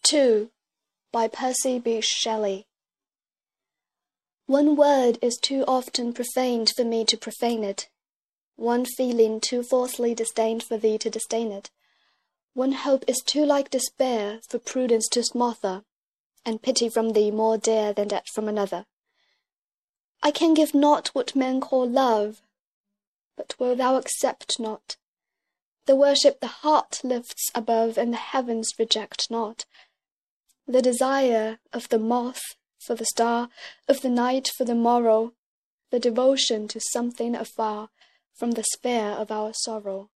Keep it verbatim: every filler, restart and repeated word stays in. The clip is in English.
two by Percy Bysshe Shelley. One word is too often profaned for me to profane it, one feeling too falsely disdained for thee to disdain it. One hope is too like despair for prudence to smother, and pity from thee more dear than that from another. I can give not what men call love, but will thou accept not, the worship the heart lifts above and the heavens reject not, the desire of the moth for the star, of the night for the morrow, the devotion to something afar from the sphere of our sorrow.